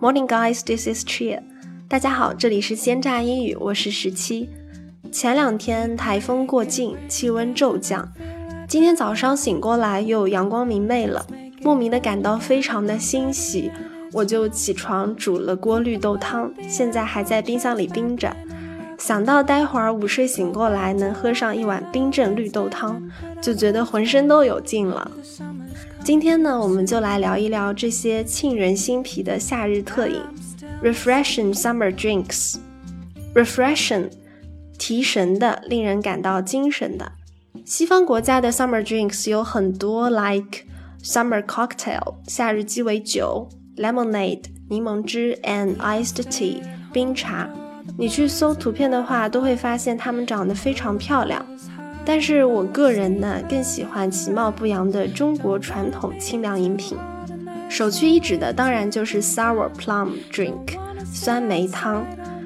Morning guys, this is Chia. 大家好，这里是鲜榨英语，我是17。前2天台风过境，气温骤降。今天早上醒过来又阳光明媚了，莫名的感到非常的欣喜，我就起床煮了锅绿豆汤，现在还在冰箱里冰着。想到待会儿午睡醒过来能喝上一碗冰镇绿豆汤，就觉得浑身都有劲了。今天呢，我们就来聊一聊这些沁人心脾的夏日特饮 Refreshing Summer Drinks。 Refreshing 提神的，令人感到精神的。西方国家的 Summer Drinks 有很多 like Summer Cocktail 夏日鸡尾酒， Lemonade 柠檬汁 and Iced Tea 冰茶。你去搜图片的话，都会发现它们长得非常漂亮。但是我个人呢，更喜欢其貌不扬的中国传统清凉饮品。首屈一指的当然就是 Sour Plum Drink 酸梅汤。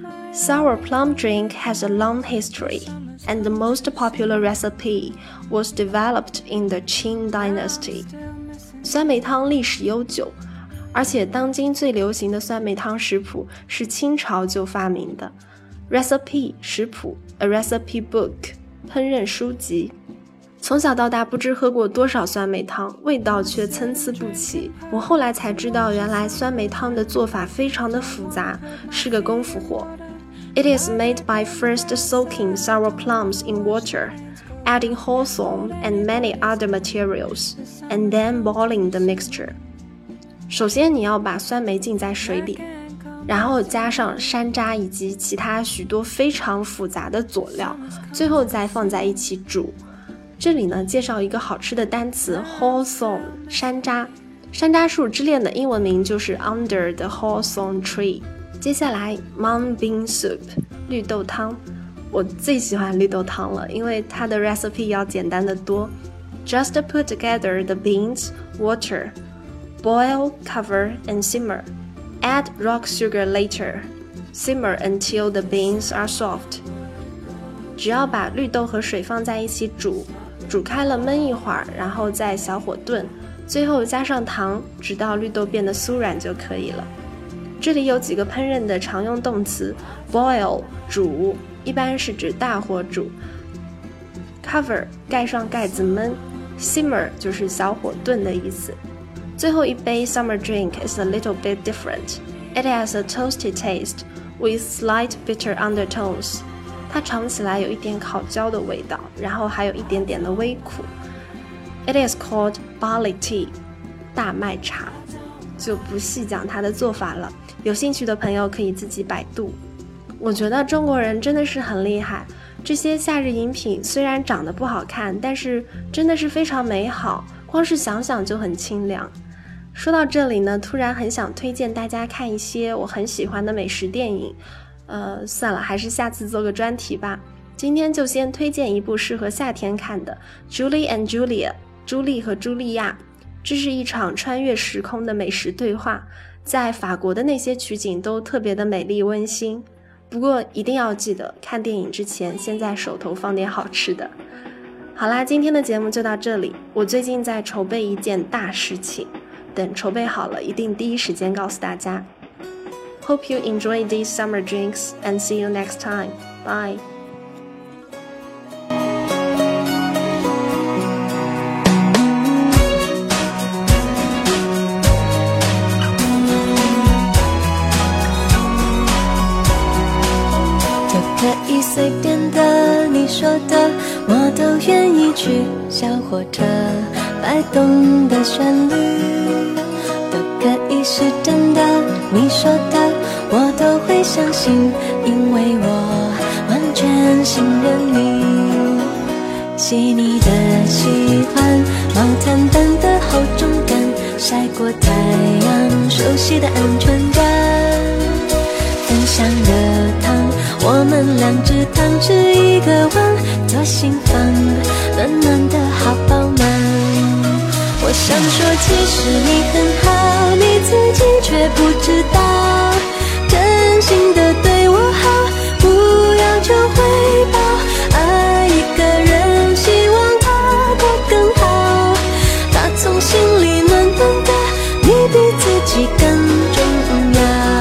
Sour Plum Drink has a long history, and the most popular recipe was developed in the Qing Dynasty. 酸梅汤历史悠久，而且当今最流行的酸梅汤食谱是清朝就发明的。 Recipe 食谱 A recipe book烹饪书籍。从小到大不知喝过多少酸梅汤，味道却参差不齐。我后来才知道，原来酸梅汤的做法非常的复杂，是个功夫活。 It is made by first soaking sour plums in water, adding hawthorn and many other materials, and then boiling the mixture. 首先你要把酸梅浸在水里，然后加上山楂以及其他许多非常复杂的佐料，最后再放在一起煮。这里呢，介绍一个好吃的单词 Hawthorn 山楂。山楂树之恋的英文名就是 Under the Hawthorn Tree。 接下来 Mung Bean Soup 绿豆汤。我最喜欢绿豆汤了，因为它的 recipe 要简单的多。 Just put together the beans, water, boil, cover and simmer.Add rock sugar later. Simmer until the beans are soft. 只要把绿豆和水放在一起煮，煮开了焖一会儿，然后再小火炖，最后加上糖，直到绿豆变得酥软就可以了。这里有几个烹饪的常用动词。 Boil 煮，一般是指大火煮。 Cover 盖上盖子焖。 Simmer 就是小火炖的意思。最后一杯 summer drink is a little bit different. It has a toasty taste with slight bitter undertones. 它尝起来有一点烤焦的味道，然后还有一点点的微苦。 It is called barley tea. 大麦茶。就不细讲它的做法了，有兴趣的朋友可以自己百度。我觉得中国人真的是很厉害，这些夏日饮品虽然长得不好看，但是真的是非常美好，光是想想就很清凉。说到这里呢，突然很想推荐大家看一些我很喜欢的美食电影。算了，还是下次做个专题吧。今天就先推荐一部适合夏天看的 Julie and Julia 朱莉和茱莉亚。这是一场穿越时空的美食对话，在法国的那些取景都特别的美丽温馨。不过一定要记得看电影之前先在手头放点好吃的。好啦，今天的节目就到这里。我最近在筹备一件大事情，等筹备好了一定第一时间告诉大家。 Hope you enjoy these summer drinks and see you next time. Bye. 可以随便的，你说的我都愿意去。小火车摆动的旋律都可以是真的，你说的我都会相信，因为我完全信任你。细腻的喜欢，毛毯般的厚重感，晒过太阳，熟悉的安全感。分享的汤，我们2只汤匙1个碗，左心房暖暖的好饱满。我想说其实你很好，你自己却不知道，真心的对我好，不要求回报，爱一个人希望他过更好，他从心里暖暖的，你比自己更重要。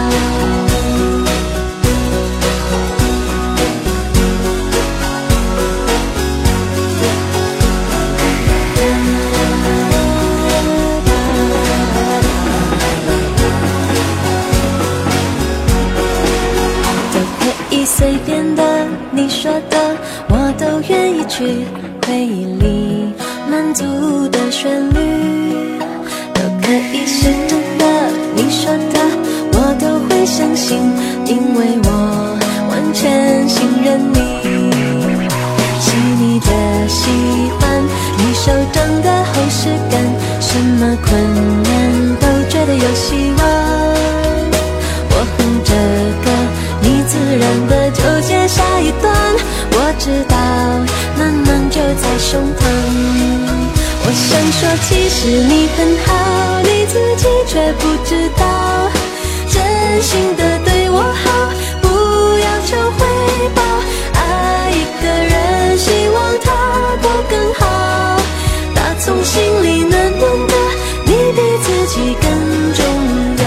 曲，回忆里满足的旋律，都可以是真的，你说的我都会相信，因为我完全信任你。细腻的喜欢，你手掌的厚实感，什么困难都觉得有希望。我哼着歌，你自然的就接下一段，我知道暖暖就在胸膛。我想说其实你很好，你自己却不知道，真心的对我好，不要求回报，爱一个人希望他过更好，打从心里暖暖的，你比自己更重要。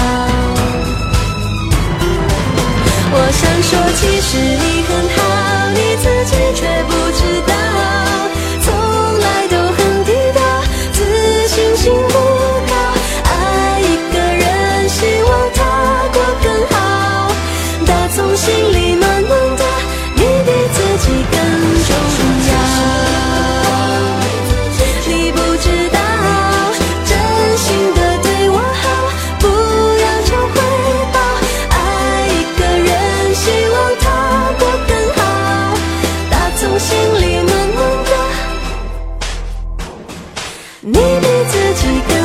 我想说其实你很好，你自己却不知道，从来都很低调，自信心不高，爱一个人希望他过更好，打从心里暖暖的，你比自己更重要。你不知道真心的对我好，不要求回报，爱一个人希望他过更好，打从心里暖暖的，你比自己更